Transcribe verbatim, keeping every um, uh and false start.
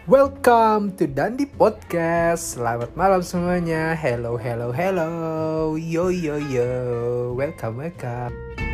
Welcome to Dandi Podcast. Selamat malam semuanya. Hello, hello, hello. Yo, yo, yo. Welcome, welcome.